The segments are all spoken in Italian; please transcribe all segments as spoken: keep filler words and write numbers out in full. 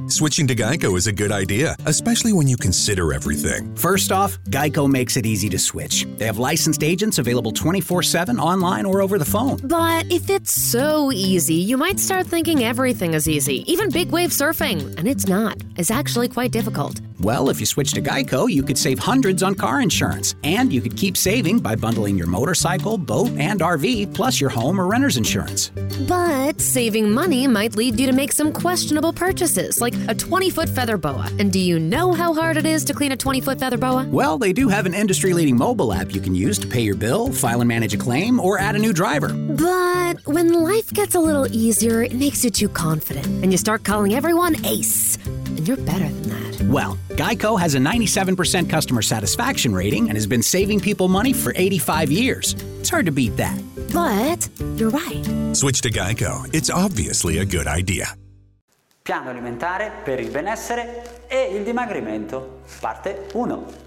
Switching to Geico is a good idea, especially when you consider everything. First off, Geico makes it easy to switch. They have licensed agents available twenty-four seven online or over the phone. But if it's so easy, you might start thinking everything is easy, even big wave surfing. And it's not. It's actually quite difficult. Well, if you switch to Geico, you could save hundreds on car insurance. And you could keep saving by bundling your motorcycle, boat, and R V, plus your home or renter's insurance. But saving money might lead you to make some questionable purchases, like a twenty-foot feather boa. And do you know how hard it is to clean a twenty-foot feather boa? Well, they do have an industry-leading mobile app you can use to pay your bill, file and manage a claim, or add a new driver. But when life gets a little easier, it makes you too confident, and you start calling everyone Ace. And you're better than that. Well, Geico has a ninety-seven percent customer satisfaction rating and has been saving people money for eighty-five years. It's hard to beat that. But you're right. Switch to Geico. It's obviously a good idea. Piano alimentare per il benessere e il dimagrimento, parte uno.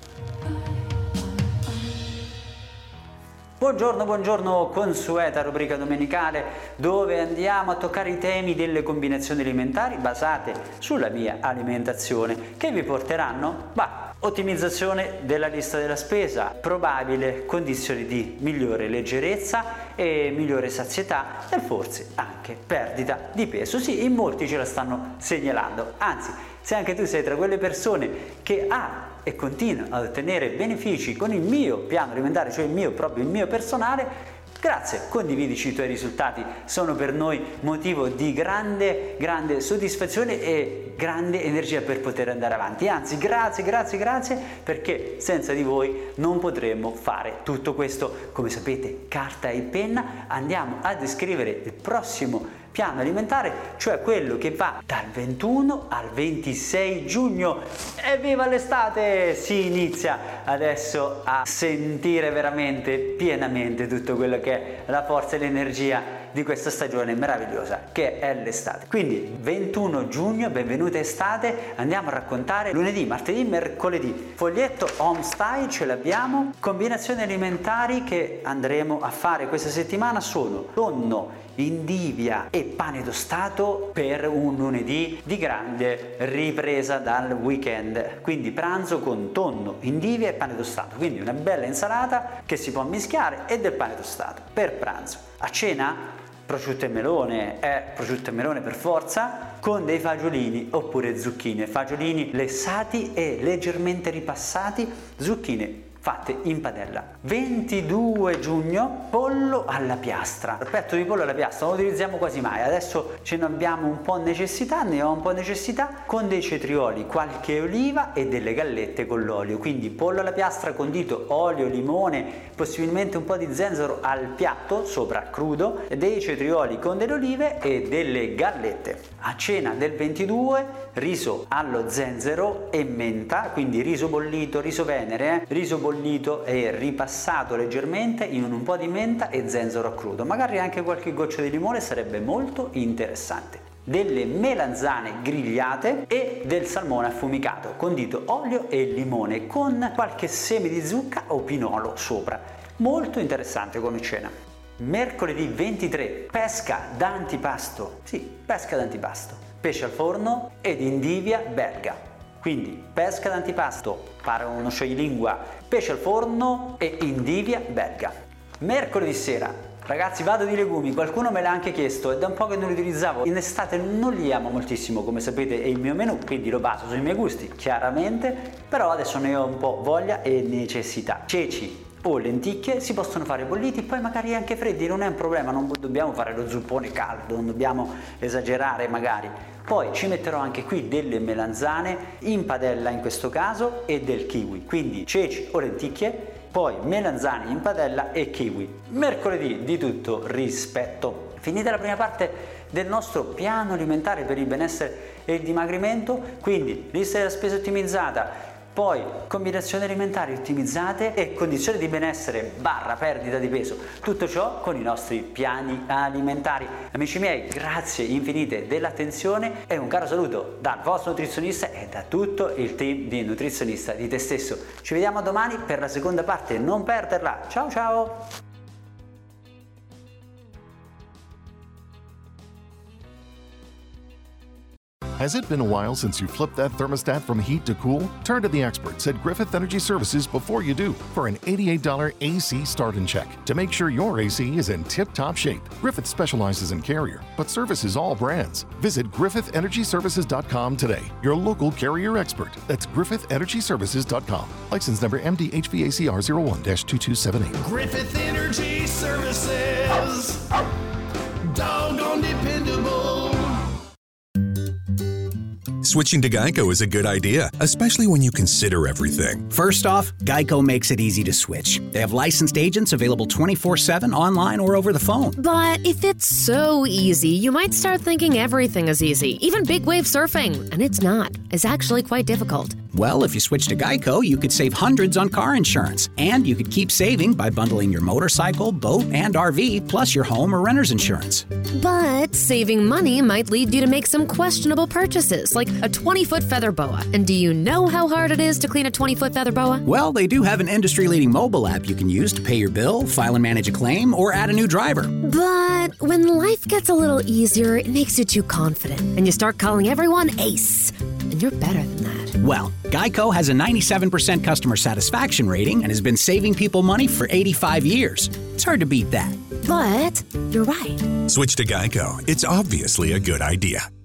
Buongiorno, buongiorno, consueta rubrica domenicale dove andiamo a toccare i temi delle combinazioni alimentari basate sulla mia alimentazione che vi porteranno, bah, ottimizzazione della lista della spesa, probabile condizioni di migliore leggerezza e migliore sazietà e forse anche perdita di peso. Sì, in molti ce la stanno segnalando, anzi, se anche tu sei tra quelle persone che ha e continua ad ottenere benefici con il mio piano alimentare, cioè il mio proprio il mio personale, grazie, condividici i tuoi risultati, sono per noi motivo di grande, grande soddisfazione e grande energia per poter andare avanti. Anzi, grazie, grazie, grazie, perché senza di voi non potremmo fare tutto questo. Come sapete, carta e penna, andiamo a descrivere il prossimo piano alimentare, cioè quello che va dal ventuno al ventisei giugno. Evviva l'estate! Si inizia adesso a sentire veramente pienamente tutto quello che è la forza e l'energia di questa stagione meravigliosa che è l'estate. Quindi ventuno giugno, benvenuta estate, andiamo a raccontare lunedì, martedì, mercoledì. Foglietto home style ce l'abbiamo. Combinazioni alimentari che andremo a fare questa settimana sono tonno, indivia e pane tostato per un lunedì di grande ripresa dal weekend. Quindi pranzo con tonno, indivia e pane tostato. Quindi una bella insalata che si può mischiare e del pane tostato per pranzo. A cena prosciutto e melone, è prosciutto e melone per forza, con dei fagiolini oppure zucchine, fagiolini lessati e leggermente ripassati, zucchine fatte in padella. ventidue giugno, pollo alla piastra. Il petto di pollo alla piastra non lo utilizziamo quasi mai, adesso ce ne abbiamo un po' necessità, ne ho un po' necessità, con dei cetrioli, qualche oliva e delle gallette con l'olio. Quindi pollo alla piastra condito, olio, limone, possibilmente un po' di zenzero al piatto, sopra crudo, dei cetrioli con delle olive e delle gallette. A cena del ventidue, riso allo zenzero e menta, quindi riso bollito, riso venere, eh? riso bollito bollito e ripassato leggermente in un po' di menta e zenzero a crudo, magari anche qualche goccia di limone, sarebbe molto interessante. Delle melanzane grigliate e del salmone affumicato condito olio e limone con qualche seme di zucca o pinolo sopra. Molto interessante come cena. Mercoledì ventitré, pesca d'antipasto. Sì, pesca d'antipasto. Pesce al forno ed indivia belga. Quindi pesca d'antipasto, para uno scioglilingua, pesce al forno e indivia belga. Mercoledì sera, ragazzi, vado di legumi, qualcuno me l'ha anche chiesto, è da un po' che non li utilizzavo, in estate non li amo moltissimo, come sapete è il mio menù, quindi lo baso sui miei gusti, chiaramente, però adesso ne ho un po' voglia e necessità. Ceci o lenticchie si possono fare bolliti, poi magari anche freddi, non è un problema, non dobbiamo fare lo zuppone caldo, non dobbiamo esagerare magari. Poi ci metterò anche qui delle melanzane in padella in questo caso e del kiwi, quindi ceci o lenticchie, poi melanzane in padella e kiwi. Mercoledì di tutto rispetto. Finita la prima parte del nostro piano alimentare per il benessere e il dimagrimento, quindi lista della spesa ottimizzata, poi combinazioni alimentari ottimizzate e condizioni di benessere barra perdita di peso, tutto ciò con i nostri piani alimentari. Amici miei, grazie infinite dell'attenzione e un caro saluto dal vostro nutrizionista e da tutto il team di Nutrizionista di te stesso. Ci vediamo domani per la seconda parte, non perderla. Ciao ciao! Has it been a while since you flipped that thermostat from heat to cool? Turn to the experts at Griffith Energy Services before you do for an eighty-eight dollars A C start and check to make sure your A C is in tip-top shape. Griffith specializes in Carrier, but services all brands. Visit Griffith Energy Services dot com today. Your local Carrier expert. That's Griffith Energy Services dot com. License number M D H V A C R zero one dash two two seven eight. Griffith Energy Services. Doggone dependable. Switching to Geico is a good idea, especially when you consider everything. First off, Geico makes it easy to switch. They have licensed agents available twenty-four seven online or over the phone. But if it's so easy, you might start thinking everything is easy, even big wave surfing. And it's not. It's actually quite difficult. Well, if you switch to Geico, you could save hundreds on car insurance. And you could keep saving by bundling your motorcycle, boat, and R V, plus your home or renter's insurance. But saving money might lead you to make some questionable purchases, like a twenty-foot feather boa. And do you know how hard it is to clean a twenty-foot feather boa? Well, they do have an industry-leading mobile app you can use to pay your bill, file and manage a claim, or add a new driver. But when life gets a little easier, it makes you too confident, and you start calling everyone Ace. And you're better than that. Well, Geico has a ninety-seven percent customer satisfaction rating and has been saving people money for eighty-five years. It's hard to beat that. But you're right. Switch to Geico. It's obviously a good idea.